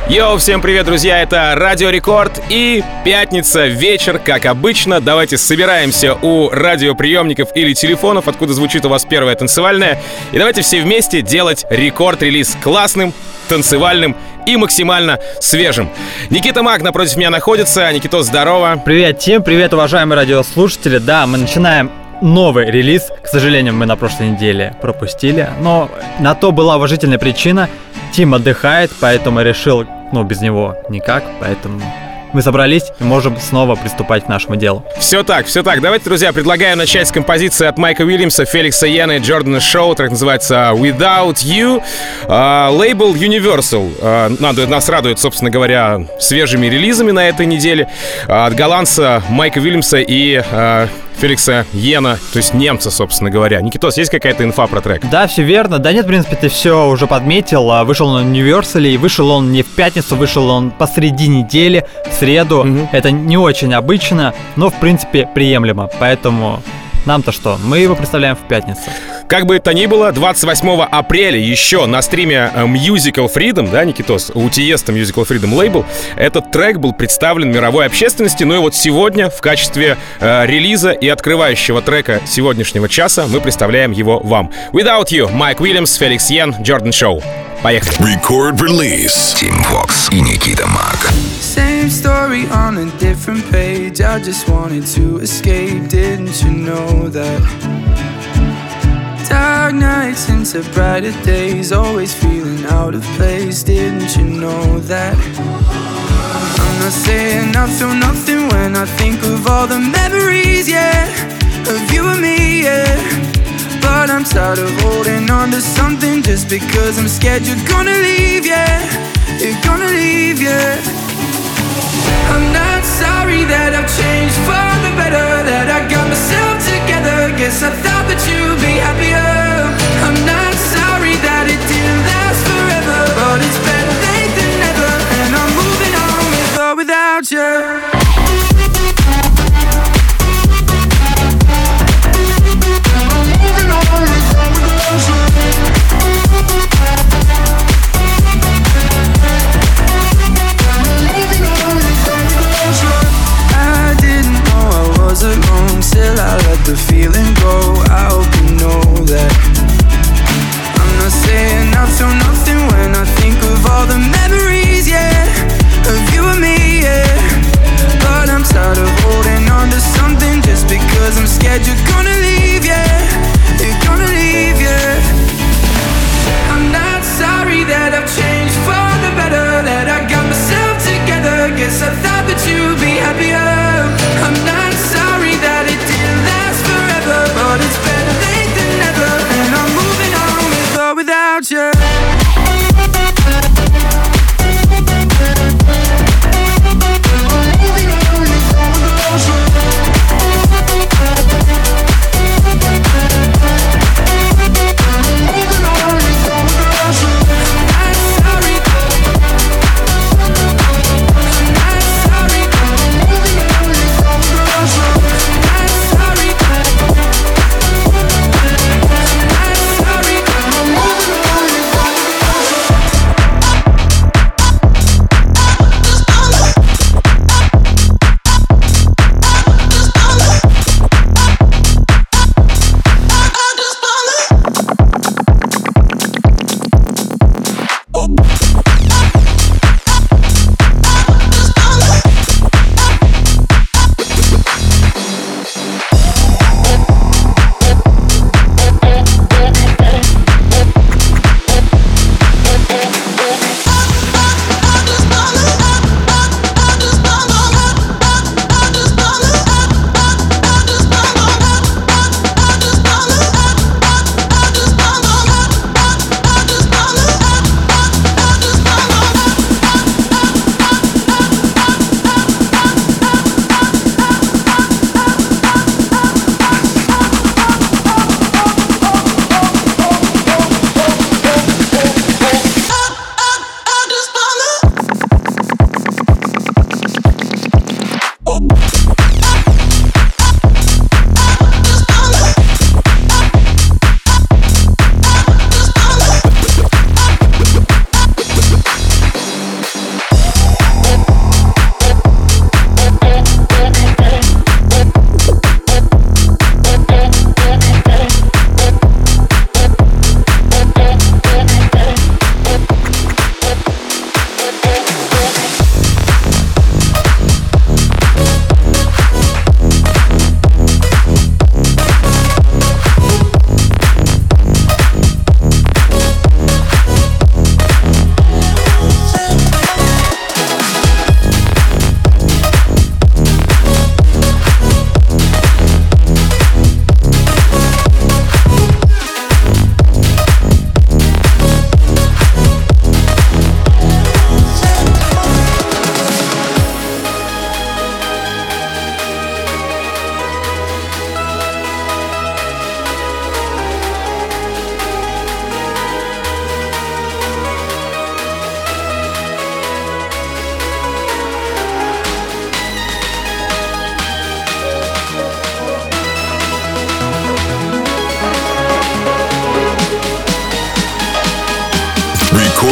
Йоу, всем привет, друзья, это Радио Рекорд и пятница, вечер, как обычно. Давайте собираемся у радиоприемников или телефонов, откуда звучит у вас первая танцевальная, и давайте все вместе делать рекорд-релиз классным, танцевальным и максимально свежим. Никита Мак напротив меня находится. Никитос, здорово. Привет, Тим, привет, уважаемые радиослушатели. Да, мы начинаем новый релиз. К сожалению, мы на прошлой неделе пропустили, но на то была уважительная причина. Тим отдыхает, поэтому я решил, без него никак, поэтому мы собрались и можем снова приступать к нашему делу. Все так. Давайте, друзья, предлагаю начать с композиции от Майка Уильямса, Феликса Йена и Джордана Шоу. Трек называется Without You. Лейбл Universal нас радует, собственно говоря, свежими релизами на этой неделе. От голландца Майка Уильямса и Феликса Йена, то есть немца, собственно говоря. Никитос, есть какая-то инфа про трек? Да, все верно. Да нет, в принципе, ты все уже подметил. Вышел он на Universal, и вышел он не в пятницу, вышел он посреди недели, в среду. Это не очень обычно, но, в принципе, приемлемо. Поэтому нам-то что? Мы его представляем в пятницу. Как бы то ни было, 28 апреля еще на стриме Musical Freedom, да, Никитос, у Тиеста Musical Freedom лейбл, этот трек был представлен мировой общественности. Ну и вот сегодня в качестве релиза и открывающего трека сегодняшнего часа мы представляем его вам. Without You, Майк Уильямс, Феликс Йен, Джордан Шоу. Поехали. Record Release. Тим Вокс и Никита Мак. Same story on a different page. I just wanted to escape. Didn't you know that? Dark nights into brighter days. Always feeling out of place. Didn't you know that? I'm not saying I feel nothing when I think of all the memories, yeah, of you and me, yeah. But I'm tired of holding on to something just because I'm scared you're gonna leave, yeah. You're gonna leave, yeah. I'm not sorry that I've changed for the better, that I got myself together. Guess I thought that you'd be happier. I'm not sorry that it didn't last forever, but it's better late than never, and I'm moving on with or without you. Alone, still I let the feeling go. I hope you know that. I'm not saying I feel nothing when I think of all the memories, yeah, of you and me, yeah. But I'm tired of holding on to something just because I'm scared you're gonna leave, yeah. You're gonna leave, yeah. I'm not sorry that I've changed for the better, that I got myself together. Guess I thought that you'd be happier. I'm not sorry that it didn't last forever, but it's better late than never, and I'm moving on with or without you.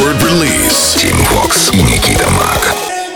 Record Release. Team Fox и Никита Мак.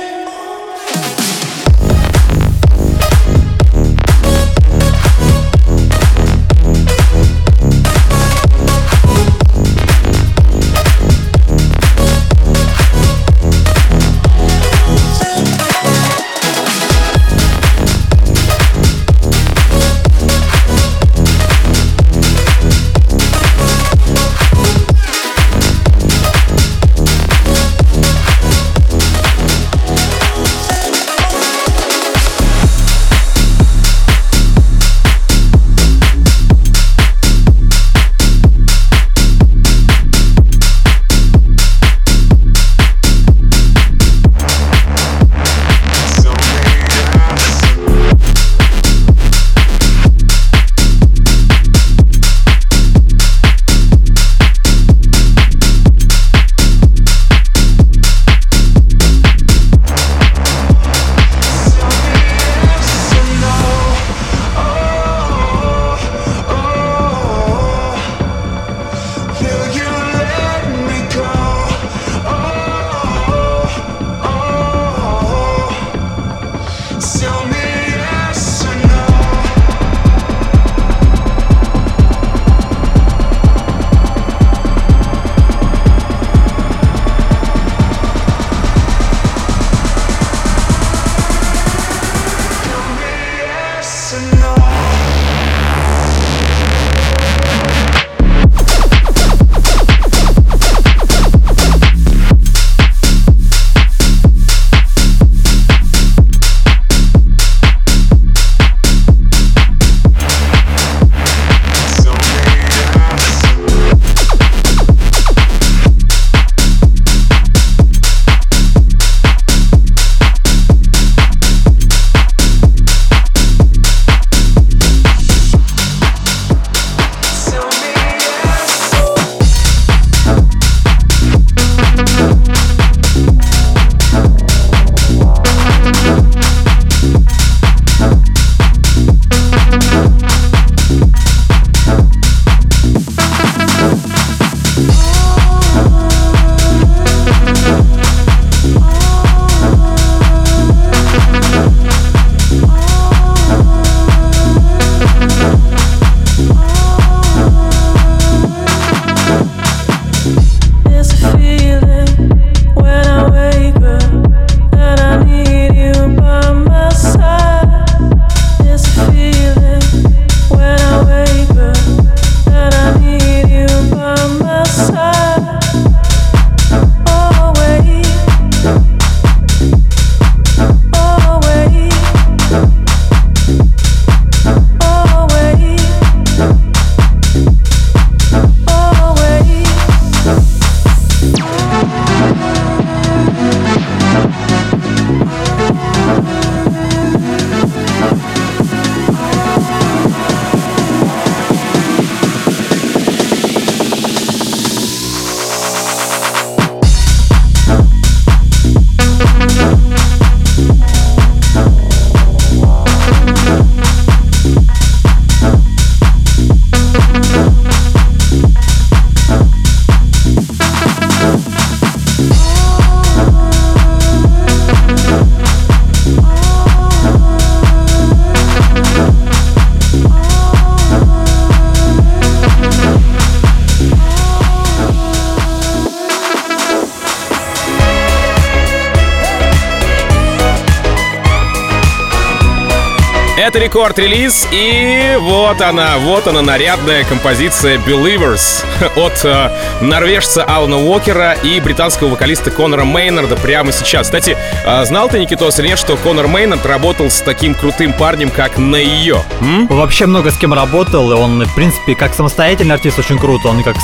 Это рекорд-релиз, и вот она, нарядная композиция Believers от норвежца Алана Уокера и британского вокалиста Конора Мейнарда прямо сейчас. Кстати, знал ты, Никитос, или нет, что Конор Мейнард работал с таким крутым парнем, как Нейо? Вообще много с кем работал, и он, в принципе, как самостоятельный артист очень крут, он как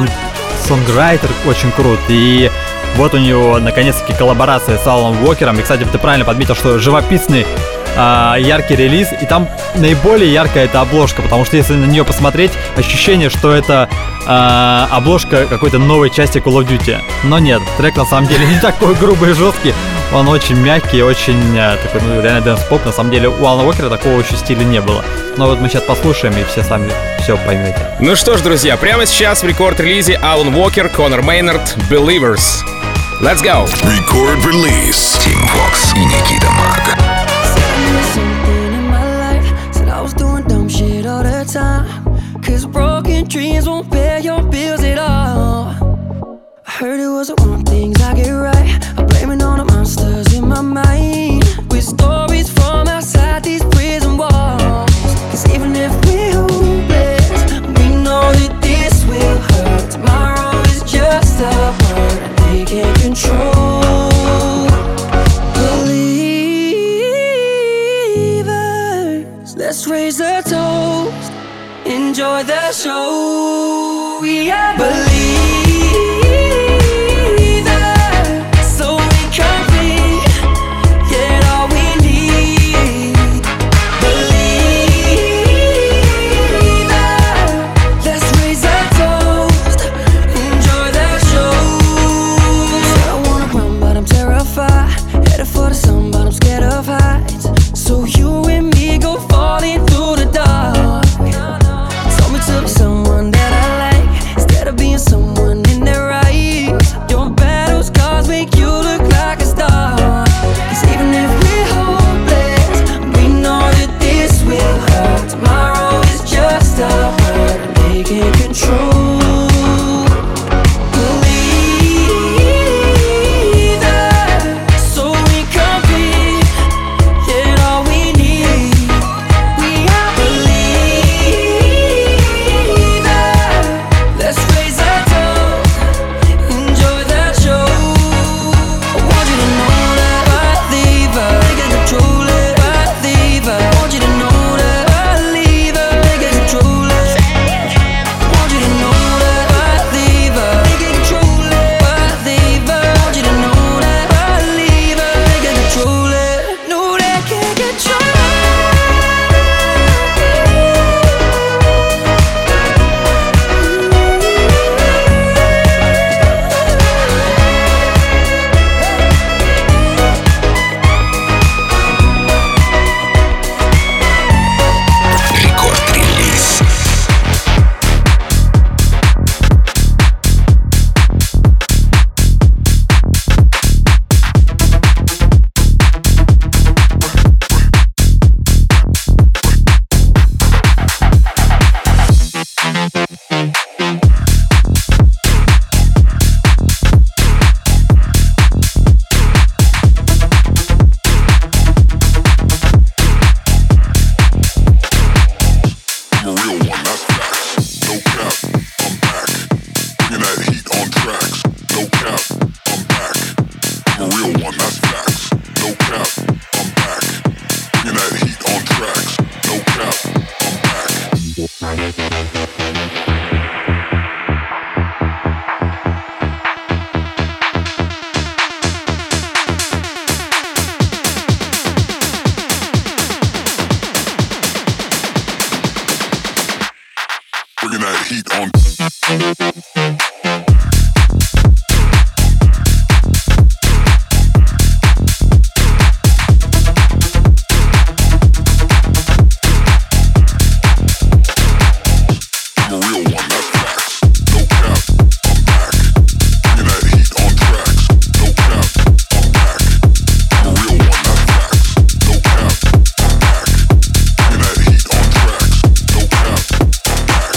сонграйтер очень крут, и вот у него, наконец-таки, коллаборация с Аланом Уокером. И, кстати, ты правильно подметил, что живописный яркий релиз, и там наиболее яркая эта обложка, потому что если на нее посмотреть, ощущение, что это обложка какой-то новой части Call of Duty. Но нет, трек на самом деле не такой грубый и жесткий, Он очень мягкий, очень такой, реально дэнс-поп. На самом деле у Алана Уокера такого еще стиля не было. Но вот мы сейчас послушаем, и все сами все поймете. Ну что ж, друзья, прямо сейчас в рекорд-релизе Алан Уокер, Конор Мейнард, Believers. Let's go! Record release. Team Fox и Никита Мак. Cause broken dreams won't pay your bills at all. I heard it was the wrong things I get right. I'm blaming all the monsters in my mind, with stories from outside these prison walls. Cause even if we're hopeless, we know that this will hurt. Tomorrow is just a word they can't control. Believers, let's raise a toast, enjoy the show. We are believers, so we complete, get all we need. Believers, let's raise a toast, enjoy the show. So I wanna run but I'm terrified, headed for the sun but I'm scared of heights. So you and me go falling through the dark. To be someone that I like, instead of being someone in their eyes. Your battle scars make you look like a star. Cause even if we're hopeless, we know that this will hurt. Tomorrow is just a word they can't control. Believe that, so we complete, get all we need. We are let's raise a toast, enjoy that show. I want you to know that believer, they can control it. Believer, I want you to know that believer, they can control it. I want you to know that believer, they can control it. Believer, I want you to know that believer, they can control it. No, they can't control it. Рекорд-релиз. I'm a real one, that's facts. No cap, I'm back. Bringing that heat on tracks. No cap, I'm back. I'm a real one, that's facts. No cap, I'm back. Bringing that heat on tracks. No cap, I'm back. Bringing that heat on. I'm a real one, that's facts. No cap, I'm back. Bringing that heat on tracks. No cap, I'm back. I'm a real one, that's facts. No cap, I'm back. Bringing that heat on tracks. No cap, I'm back.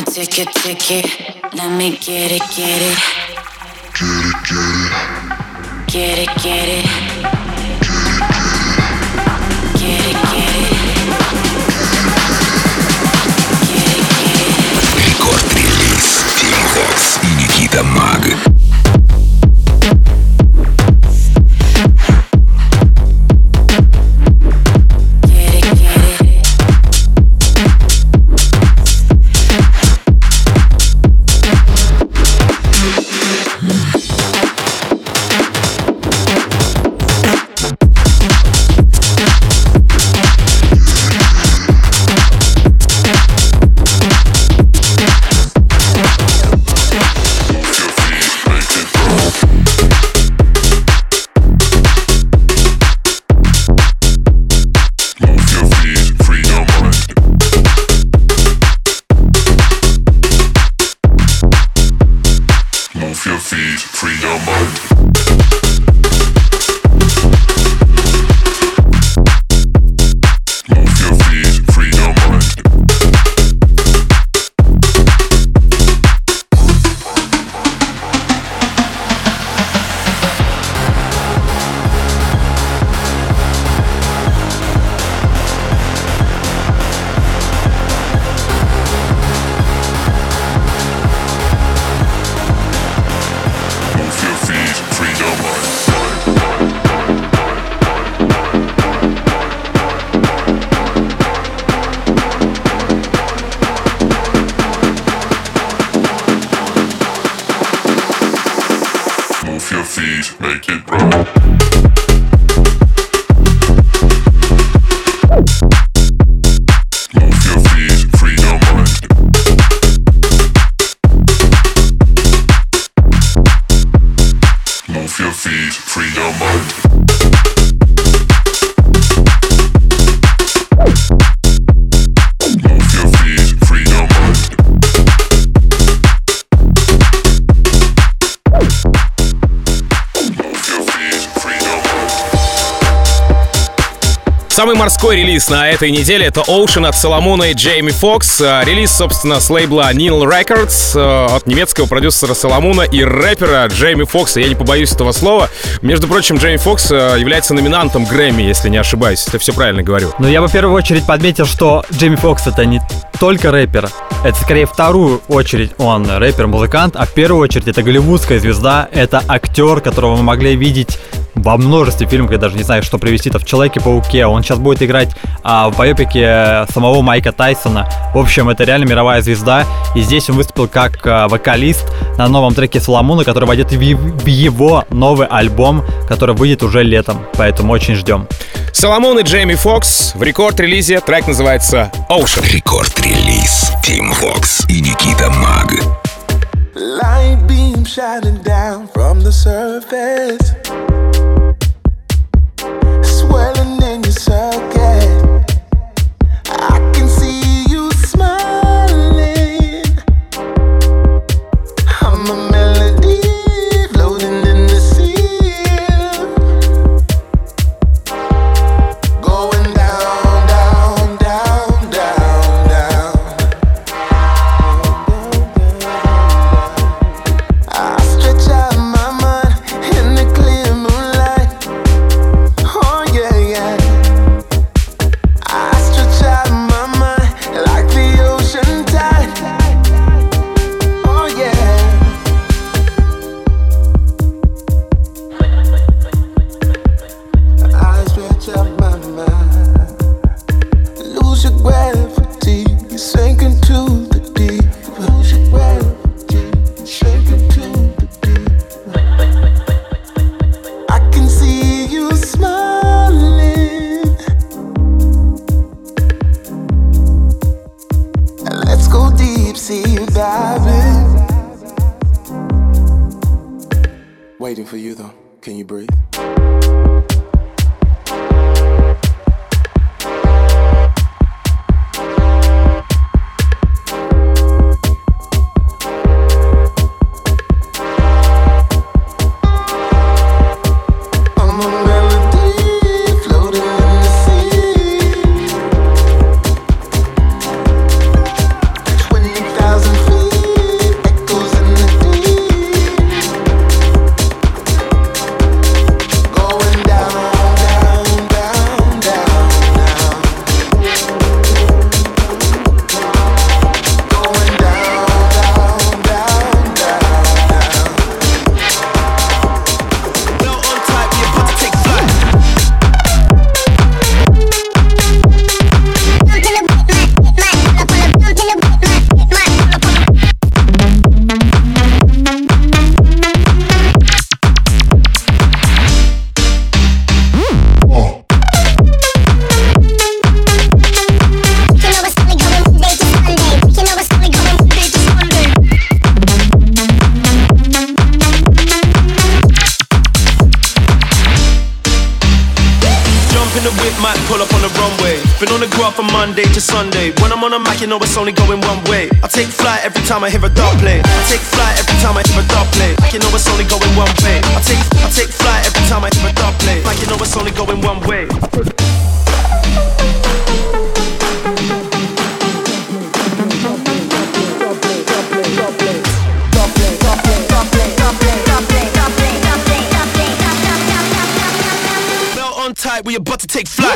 my ticket, ticket. Let me get it, get it. Get it, get it. Get it, get it. Рекорд-релиз Team Vox и Никита Маг. Самый морской релиз на этой неделе — это Ocean от Соломона и Джейми Фокс. Релиз, собственно, с лейбла Neil Records от немецкого продюсера Соломона и рэпера Джейми Фокса. Я не побоюсь этого слова. Между прочим, Джейми Фокс является номинантом Грэмми, если не ошибаюсь. Я все правильно говорю. Но я бы в первую очередь подметил, что Джейми Фокс — это не только рэпер. Это скорее вторую очередь он рэпер-музыкант, а в первую очередь это голливудская звезда, это актер, которого мы могли видеть во множестве фильмов, я даже не знаю, что привести-то, в Человеке-пауке. Он сейчас будет играть в байопике самого Майка Тайсона. В общем, это реально мировая звезда. И здесь он выступил как вокалист на новом треке Соломона, который войдет в его новый альбом, который выйдет уже летом. Поэтому очень ждем. Соломон и Джейми Фокс в рекорд-релизе. Трек называется Ocean. Рекорд-релиз Team Vox и Никита Маг. Light beam shining down from the surface, swirling in your circuit. I can see you smiling. I'm a melody floating in the sea, going down, down, down, down, down. I stretch out my mind in the clear moonlight. Oh yeah, yeah. I stretch out my mind like the ocean tide. Oh yeah. I stretch out my mind. Lose your gravity, sink into the deep. Lose your gravity, sink into the deep. I can see you smiling. Let's go deep sea diving. Waiting for you though. Can you breathe? I'm a melody floating in the sea. 20,000 Been on the graph from Monday to Sunday. When I'm on a mic, you know it's only going one way. I take flight every time I hear a dub play. I take flight every time I hear a dub play. Like you know it's only going one way. I take flight every time I hear a dub play. Like you know it's only going one way. Belt on tight, we about to take flight.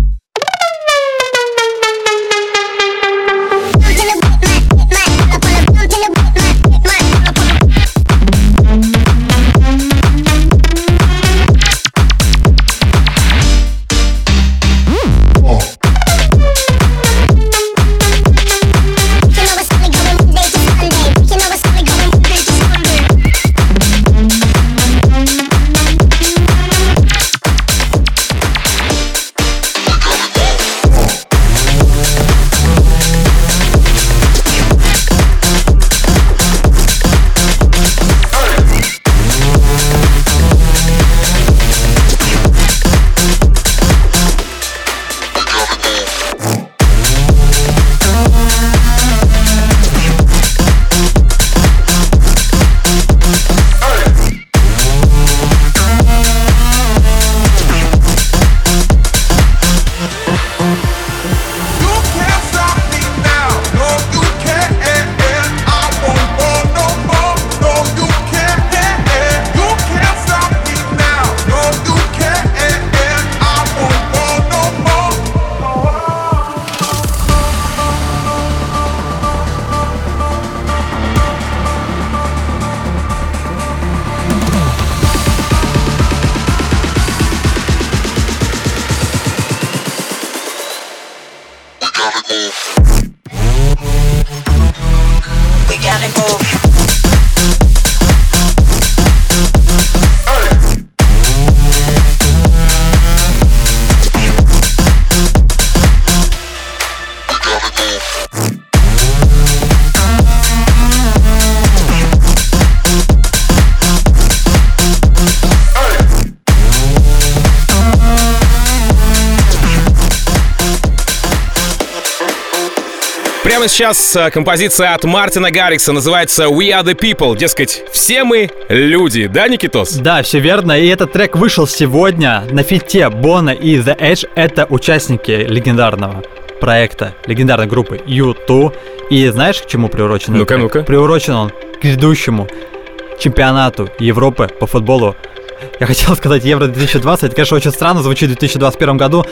Прямо сейчас композиция от Мартина Гаррикса называется «We are the people». Дескать, все мы люди, да, Никитос? Да, все верно. И этот трек вышел сегодня на фите Боно и The Edge. Это участники легендарного проекта, легендарной группы U2. И знаешь, к чему приурочен? Ну-ка. Приурочен он к грядущему чемпионату Европы по футболу. Я хотел сказать Евро-2020, это, конечно, очень странно звучит в 2021 году,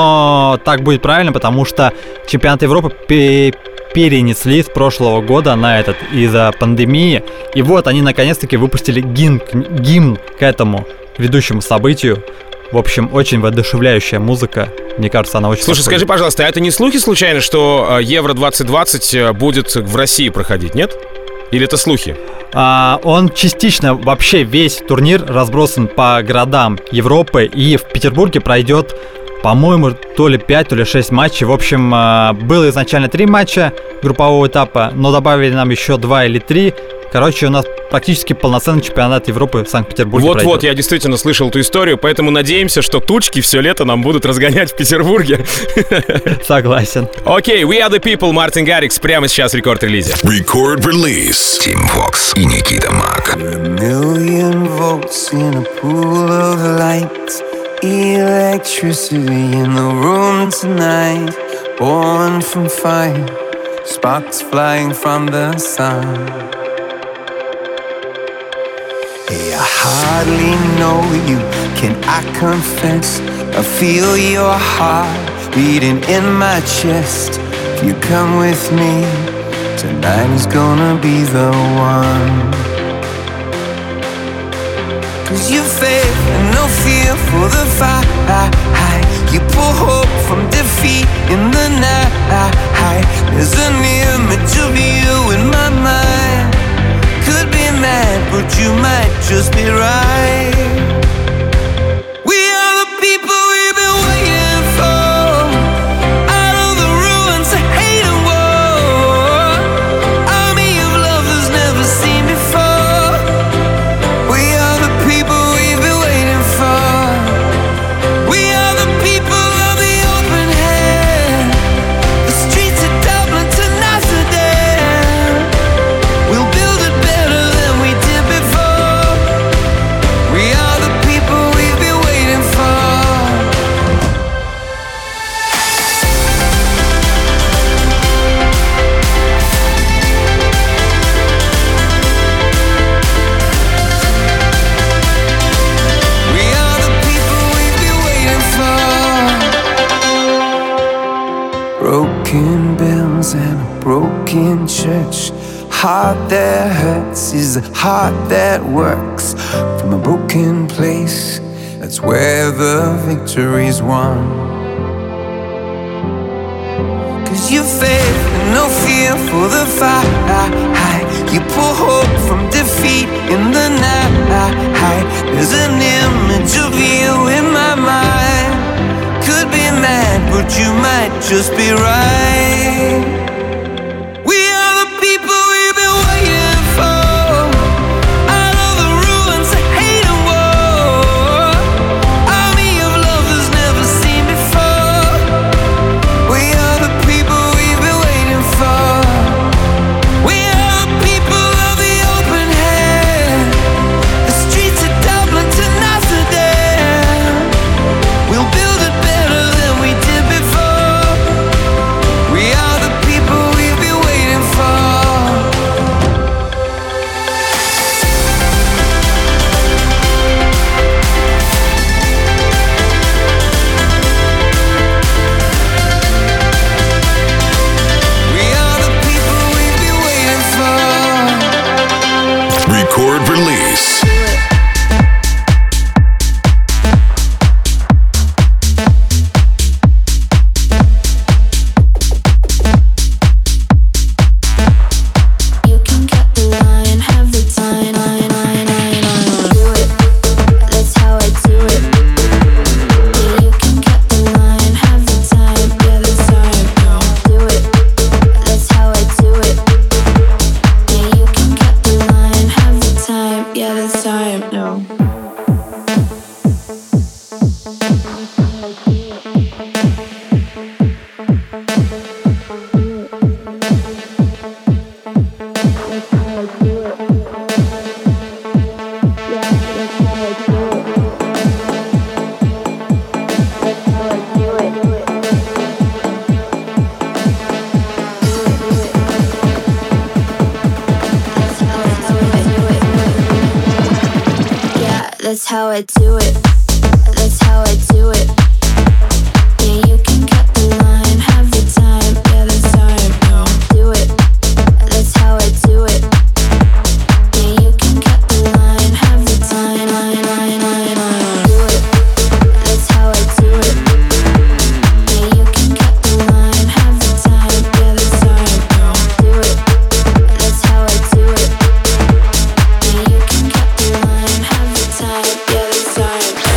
но так будет правильно, потому что чемпионат Европы перенесли с прошлого года на этот из-за пандемии. И вот они наконец-таки выпустили гимн к этому ведущему событию. В общем, очень воодушевляющая музыка. Мне кажется, она очень... Слушай, скажи, пожалуйста, а это не слухи случайно, что Евро-2020 будет в России проходить, нет? Или это слухи? Он частично, вообще весь турнир разбросан по городам Европы, и в Петербурге пройдет, по-моему, то ли 5, то ли 6 матчей. В общем, было изначально 3 матча группового этапа, но добавили нам еще 2 или 3. Короче, у нас практически полноценный чемпионат Европы в Санкт-Петербурге. Вот-вот, я действительно слышал эту историю, поэтому надеемся, что тучки все лето нам будут разгонять в Петербурге. Согласен. Окей, We Are The People, Мартин Гаррикс, прямо сейчас в рекорд-релизе. Record release. Team Fox и Никита Мак. Electricity in the room tonight, born from fire, sparks flying from the sun. Hey, I hardly know you, can I confess? I feel your heart beating in my chest. If you come with me, tonight is gonna be the one. 'Cause you faith and no fear for the fight. You pull hope from defeat in the night. There's an image of you in my mind. Could be mad, but you might just be right. We are the people we've been waiting for. Out of the ruins of hate and war, army of love that's never seen before. We are the people we've been waiting for. We are the people of the open hand. in church. Heart that hurts is a heart that works. From a broken place, that's where the victory's won. 'Cause you faith and no fear for the fight. You pull hope from defeat in the night. There's an image of you in my mind. Could be mad, but you might just be right. We are the people we've been waiting for. Out of the ruins of hate and war, army of lovers never seen before. We are the people we've been waiting for. We are the people of the open hand. The streets of Dublin to Amsterdam. We'll build it better than we did before. We are the people we've been waiting for. We are the people we've been waiting for. Record release. You can cut the line, have the time, do it. That's how I do it. Yeah, you can cut the line, have the time, yeah, that's how I do it. That's how I do it. Yeah, you can cut the line, have the time, yeah, that's how I know. That's how I do it. That's how I do it. Yeah, you can cut the line, have the time. Yeah, that's how I know. Do it. That's how I do it. Yeah, you can cut the line, have the time. Do it. That's how I do it. Yeah, you can cut the line, have the time. Yeah, that's how I know. Do it. That's how I do it. Yeah, you can cut the line, have the time. Yeah, that's how I know.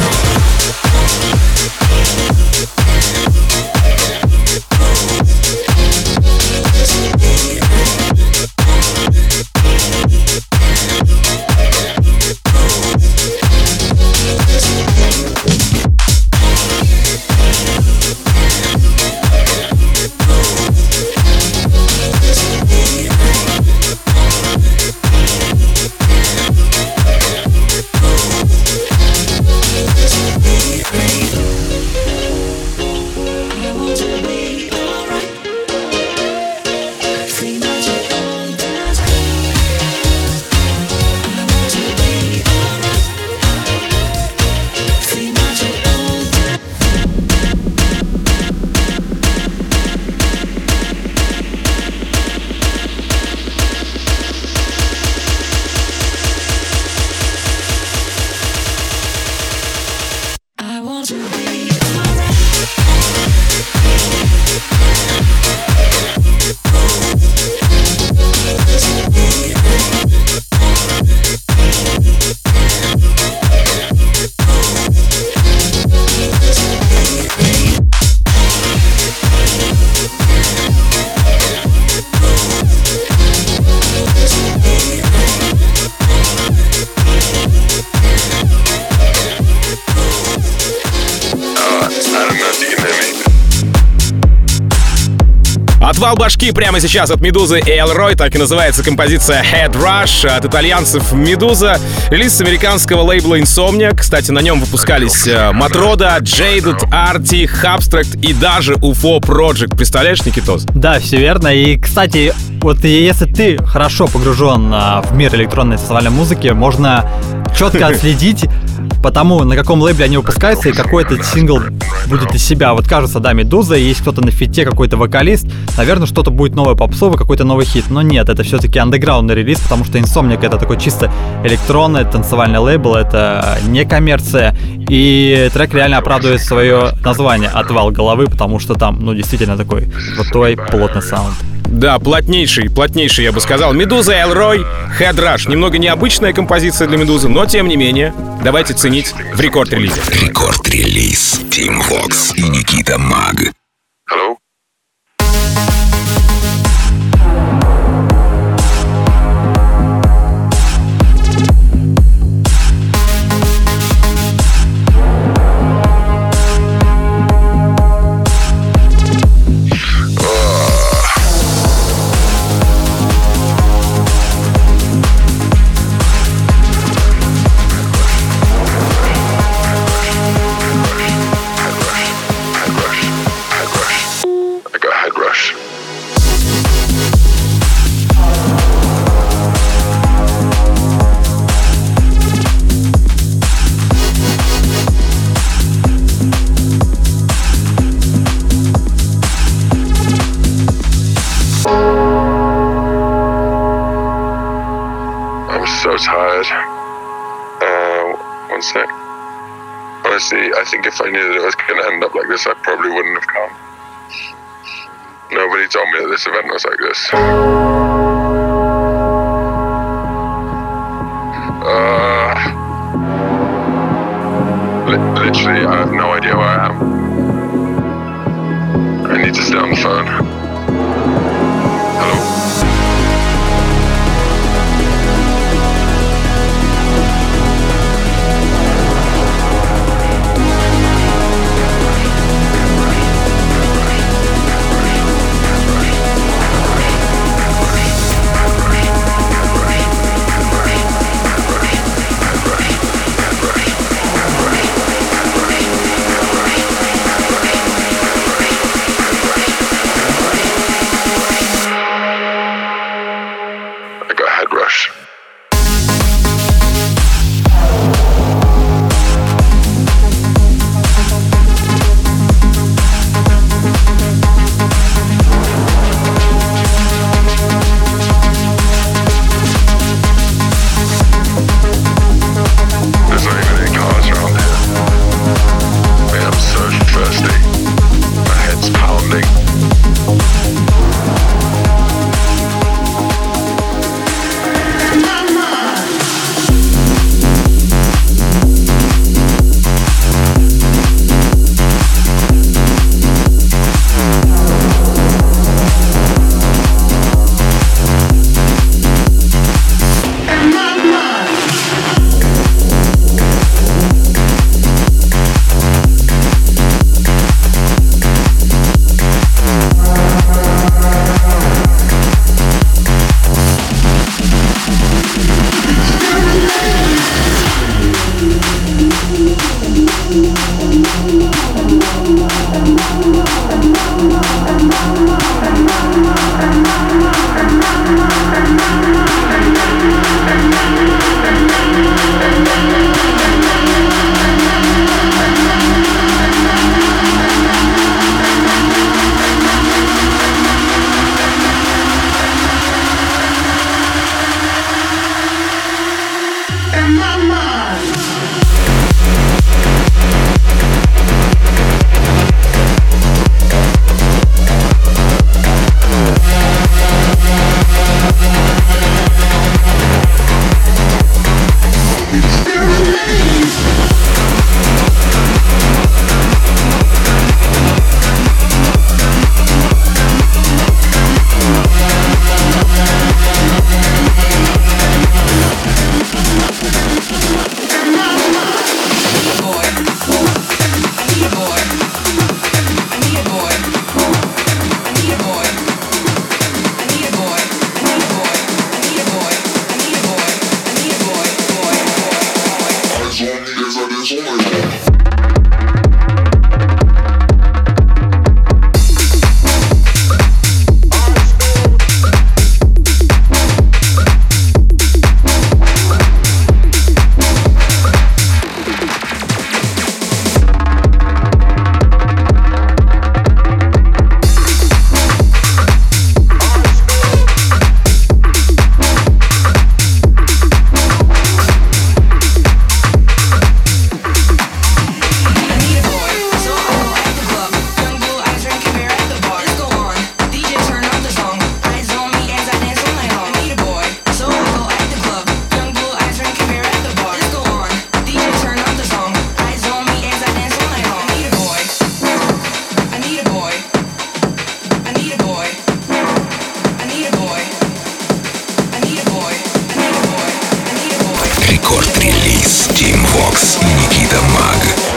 Отвал башки прямо сейчас от Медузы и Элрой. Так и называется композиция Head Rush от итальянцев Медуза. Релиз с американского лейбла Insomnia. Кстати, на нем выпускались Матрода, Jaded, Arty, Abstract и даже UFO Project. Представляешь, Никитос? Да, все верно. И, кстати, вот если ты хорошо погружен в мир электронной танцевальной музыки, можно четко отследить потому на каком лейбле они выпускаются и какой этот сингл будет из себя. Вот кажется, да, Медуза, есть кто-то на фите, какой-то вокалист, наверное, что-то будет новое попсовое, какой-то новый хит. Но нет, это все-таки андеграундный релиз, потому что Insomniac — это такой чисто электронный танцевальный лейбл, это не коммерция, и трек реально оправдывает свое название «Отвал головы», потому что там, ну, действительно такой крутой, плотный саунд. Да, плотнейший, я бы сказал. Медуза, Элрой, Head Rush. Немного необычная композиция для Медузы, но тем не менее, давайте ценить в рекорд-релизе. Рекорд-релиз. Тим Вокс и Никита Маг. Hello? Honestly, I think if I knew that it was going to end up like this, I probably wouldn't have come. Nobody told me that this event was like this. Literally, I have no idea where I am. I need to stay on the phone. Hello? Рекорд-релиз Team Vox и Никита Маг.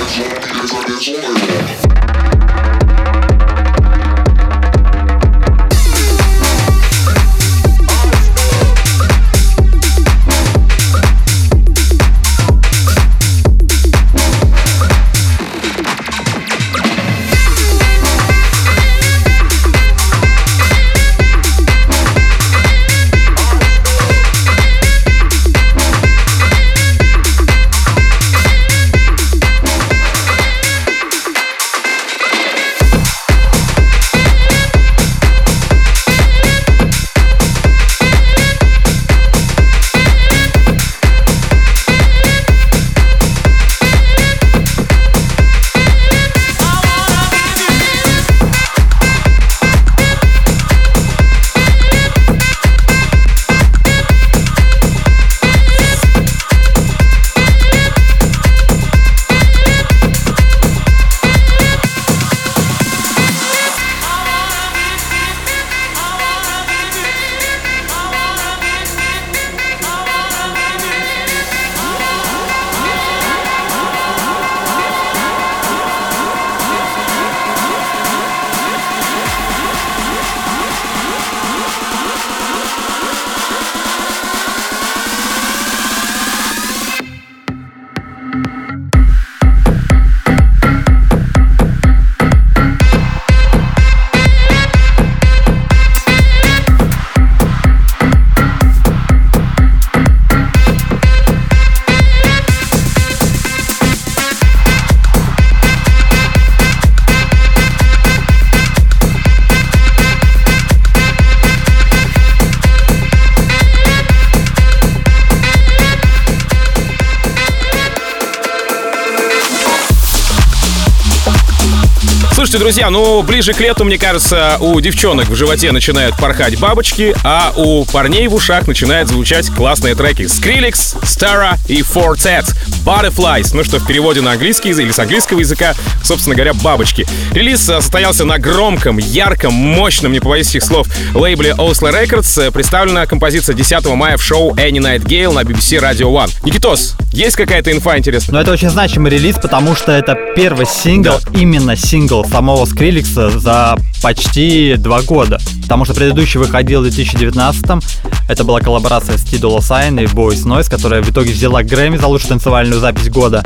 Слушайте, друзья, ближе к лету, мне кажется, у девчонок в животе начинают порхать бабочки, а у парней в ушах начинают звучать классные треки. Skrillex, Starra и Fortet, Butterflies, что в переводе на английский язык или с английского языка, собственно говоря, бабочки. Релиз состоялся на громком, ярком, мощном, не побоюсь этих слов, лейбле Oslo Records. Представлена композиция 10 мая в шоу Any Night Gale на BBC Radio One. Никитос, есть какая-то инфа интересная? Это очень значимый релиз, потому что это первый сингл, именно сингл самого Скриллекса за почти 2 года. Потому что предыдущий выходил в 2019-м. Это была коллаборация с T Dolla Sign и Boys Noise, которая в итоге взяла Грэмми за лучшую танцевальную запись года.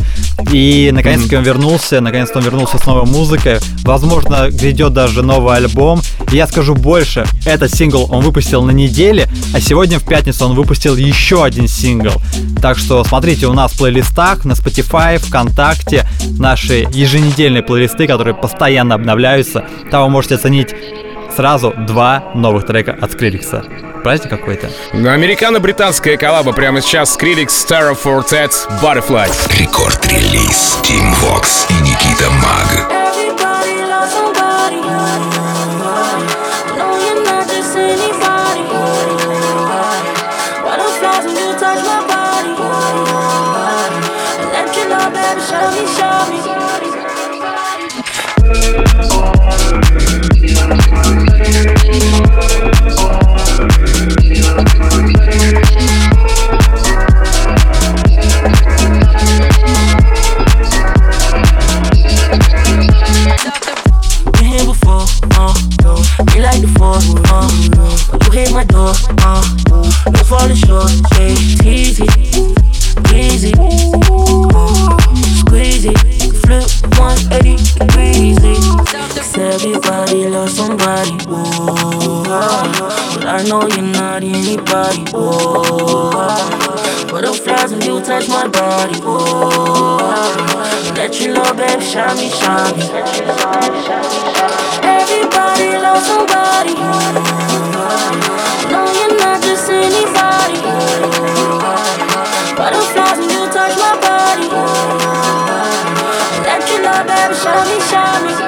И наконец-таки он вернулся с новой музыкой. Возможно, грядет даже новый альбом. И я скажу больше, этот сингл он выпустил на неделе, а сегодня в пятницу он выпустил еще один сингл. Так что смотрите, у нас в плейлистах на Spotify, ВКонтакте наши еженедельные плейлисты, которые постоянно обновляются. Там вы можете оценить сразу 2 новых трека от Скриллекса. Праздник какой-то. Американо-британская коллаба прямо сейчас. Skrillex, Starra, Fortet, Butterflies. Рекорд-релиз Team Vox и Никита Маг. You hit my door, no falling short, hey, easy, easy, squeeze it, flip 180 degrees. Everybody loves somebody, but I know you're not anybody, butterflies when you touch my body, let you know, baby, shine me. Everybody loves somebody, no, you're not just anybody, butterflies when you touch my body, let you know, baby, shine me.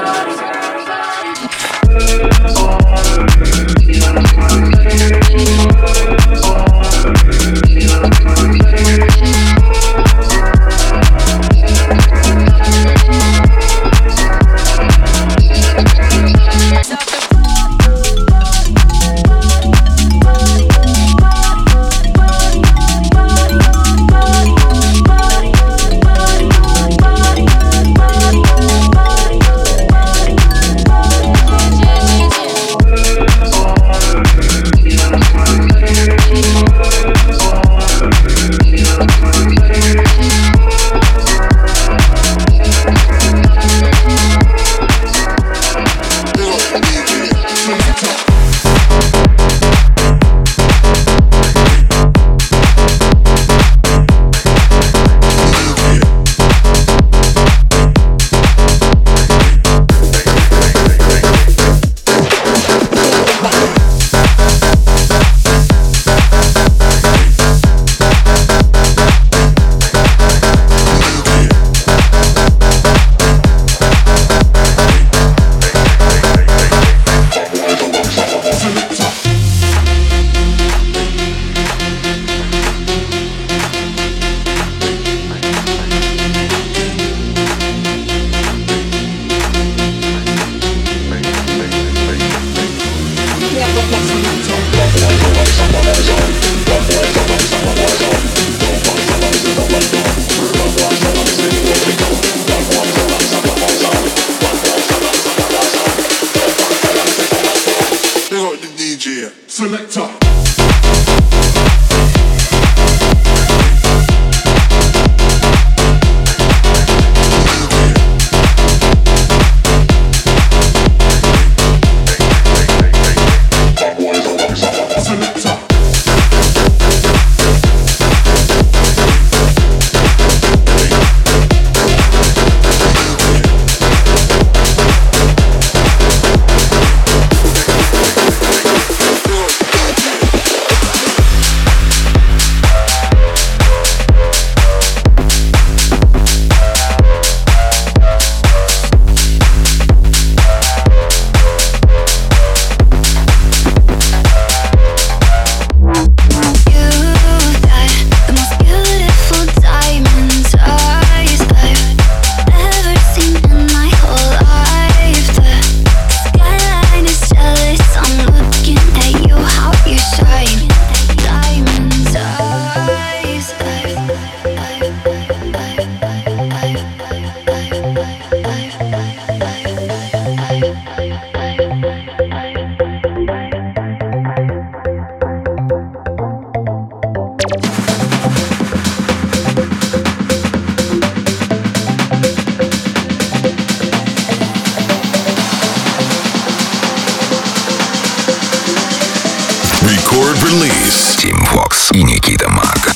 Record Release. Team Vox и Никита Маг.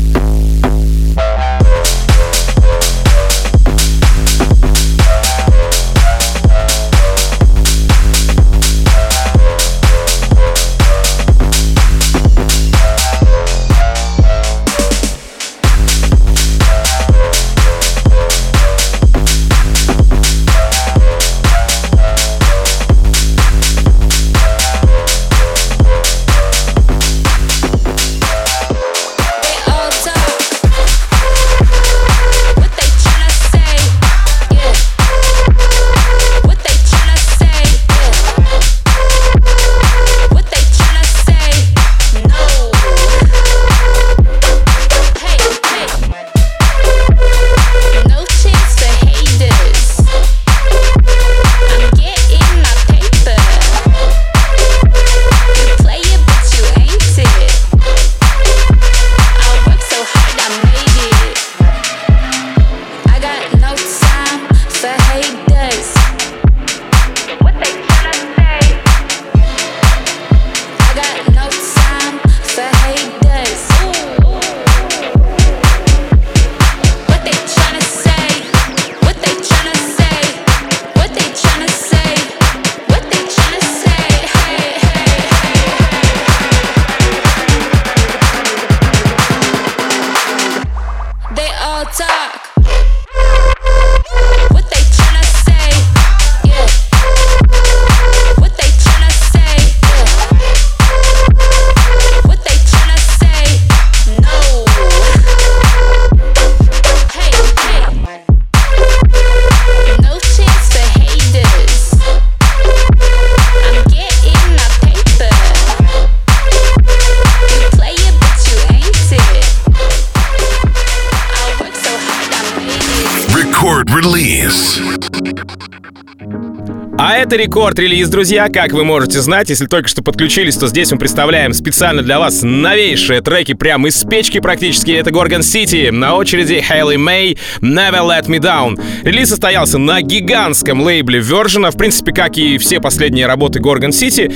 А это рекорд-релиз, друзья. Как вы можете знать, если только что подключились, то здесь мы представляем специально для вас новейшие треки прямо из печки практически. Это Gorgon City, на очереди Hayley May, Never Let Me Down. Релиз состоялся на гигантском лейбле Virgin, в принципе, как и все последние работы Gorgon City.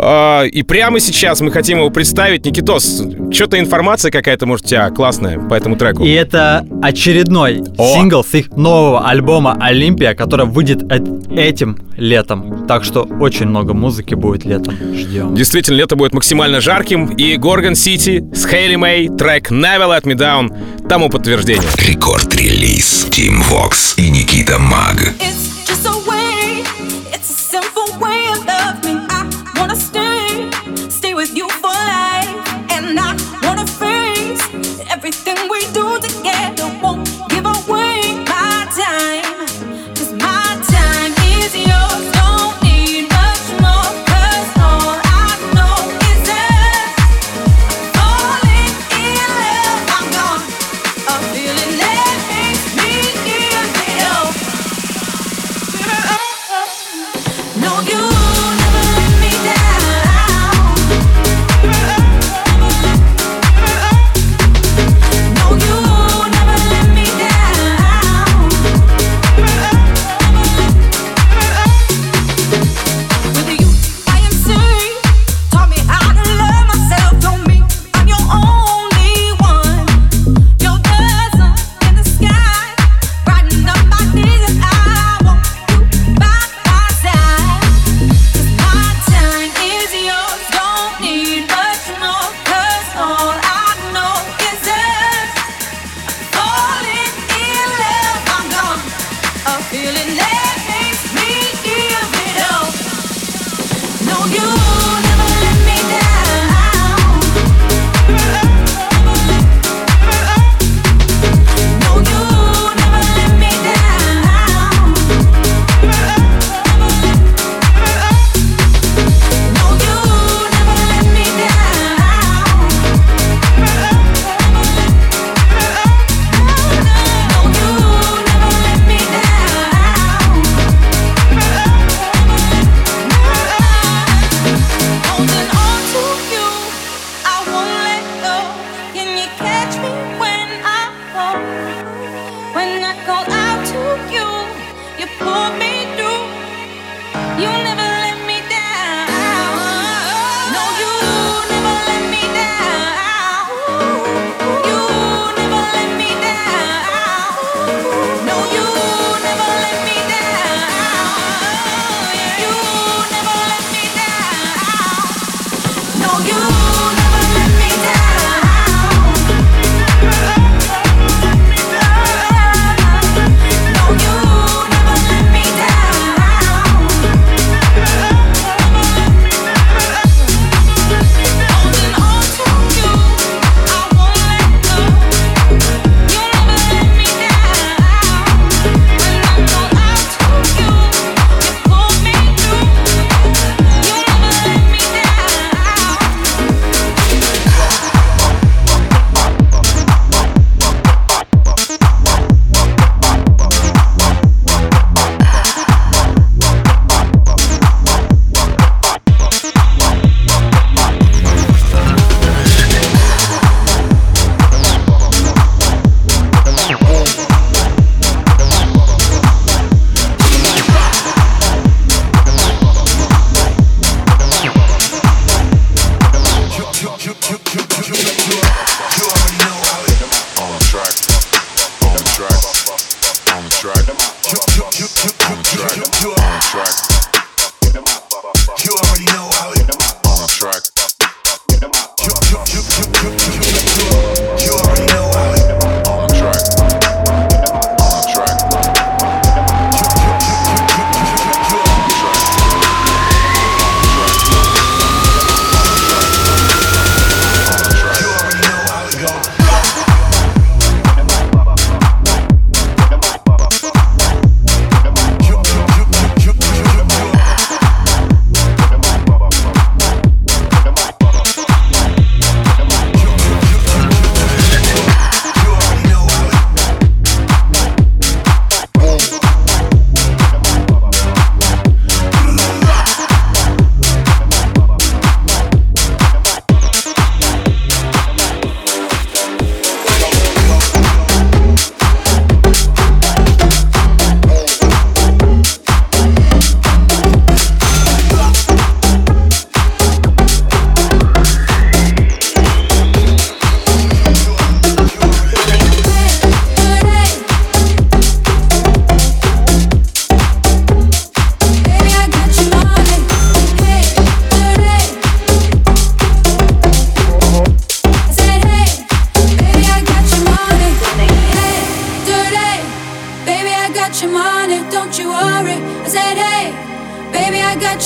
И прямо сейчас мы хотим его представить. Никитос, что-то информация какая-то, может, у тебя классная по этому треку? И это очередной сингл с их нового альбома «Олимпия», который выйдет этим летом. Так что очень много музыки будет летом. Ждем. Действительно, лето будет максимально жарким. И Gorgon City с Hayley May, трек Never Let Me Down тому подтверждение. Рекорд-релиз. Team Vox и Никита Маг. Feeling that makes me feel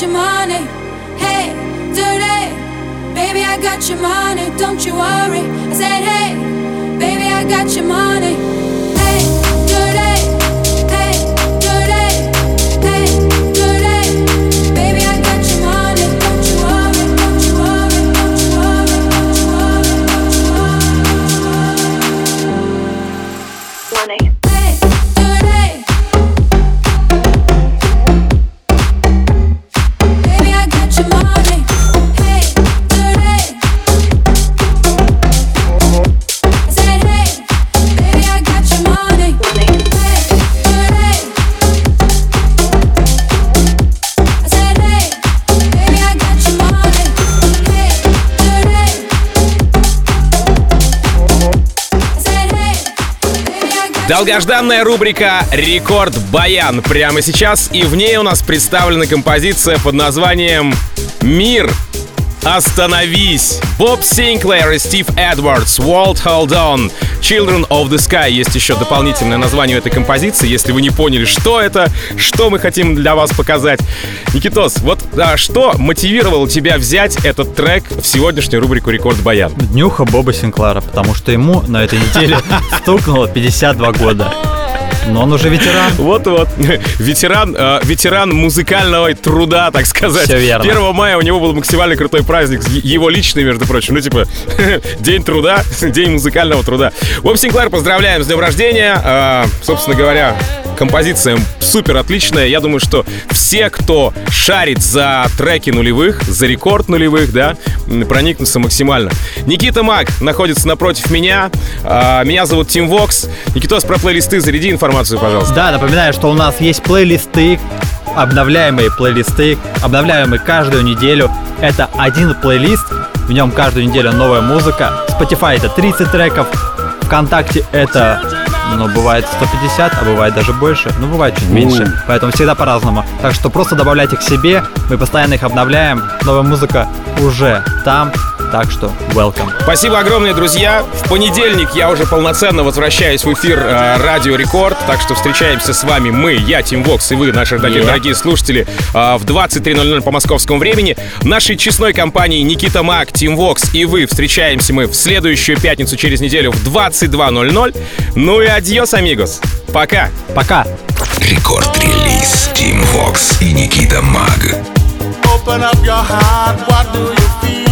your money. Hey, dirty, baby, I got your money. Don't you worry. I said, hey, baby, I got your money. Hey, dirty, hey, dirty, hey, dirty, baby, I got your money. Don't you worry, don't you worry, don't you worry, don't you worry, don't you worry. Money. Hey, dirty. Baby, I got your money. Hey, dirty. I said, hey, baby, I got your money. Hey, dirty. I said, hey, baby, I got your money. Hey, dirty. I said, hey, baby, I got your Долгожданная рубрика «Рекорд Баян» прямо сейчас, и в ней у нас представлена композиция под названием «Мир, остановись». Боб Синклер и Стив Эдвардс, «World Hold On», «Children of the Sky». Есть еще дополнительное название этой композиции, если вы не поняли, что это, что мы хотим для вас показать. Никитос, вот что мотивировало тебя взять этот трек в сегодняшнюю рубрику «Рекорд Баян»? Днюха Боба Синклера, потому что ему на этой неделе стукнуло 52 года. Но он уже ветеран. Вот-вот. Ветеран музыкального труда, так сказать. Все верно. 1 мая у него был максимально крутой праздник. Его личный, между прочим. Ну, типа, день труда, день музыкального труда. Боб Синклер, поздравляем с днем рождения. Собственно говоря, композиция супер отличная. Я думаю, что все, кто шарит за треки нулевых, за рекорд нулевых, да, проникнутся максимально. Никита Мак находится напротив меня. Меня зовут Тим Вокс. Никитос, про плейлисты заряди информацию, пожалуйста. Да, напоминаю, что у нас есть плейлисты, обновляемые каждую неделю. Это один плейлист, в нем каждую неделю новая музыка. Spotify это 30 треков, ВКонтакте это, бывает 150, а бывает даже больше, бывает чуть меньше, поэтому всегда по-разному. Так что просто добавляйте к себе, мы постоянно их обновляем, новая музыка уже там. Так что, welcome. Спасибо огромное, друзья. В понедельник я уже полноценно возвращаюсь в эфир Радио Рекорд. Так что встречаемся с вами мы, я, Тим Вокс, и вы, наши дорогие слушатели, в 23:00 по московскому времени. Нашей честной компании Никита Мак, Тим Вокс и вы встречаемся мы в следующую пятницу через неделю в 22:00. Ну и адьос, амигос. Пока. Пока. Рекорд-релиз Тим Вокс и Никита Мак. Open up your heart, what do you feel?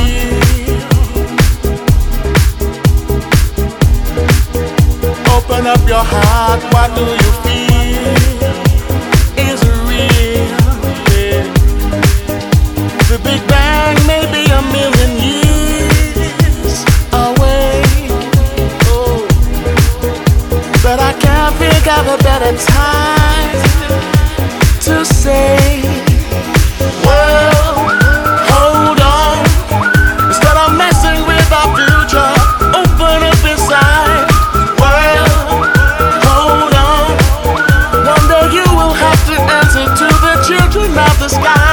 Open up your heart, what do you feel? Is it real? Yeah. The Big Bang may be a million years away. Oh. But I can't figure out a better time to say, well, hold on. Instead of messing with our future, open up inside. Well, hold on. One day you will have to answer to the children of the sky.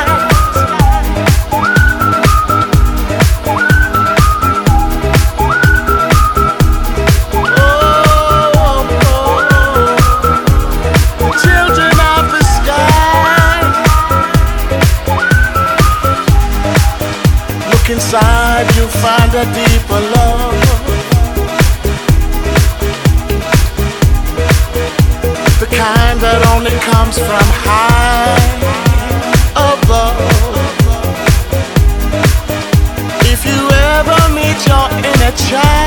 Children of the sky. Look inside, you'll find a deeper love. The kind that only comes from high above. If you ever meet your inner child,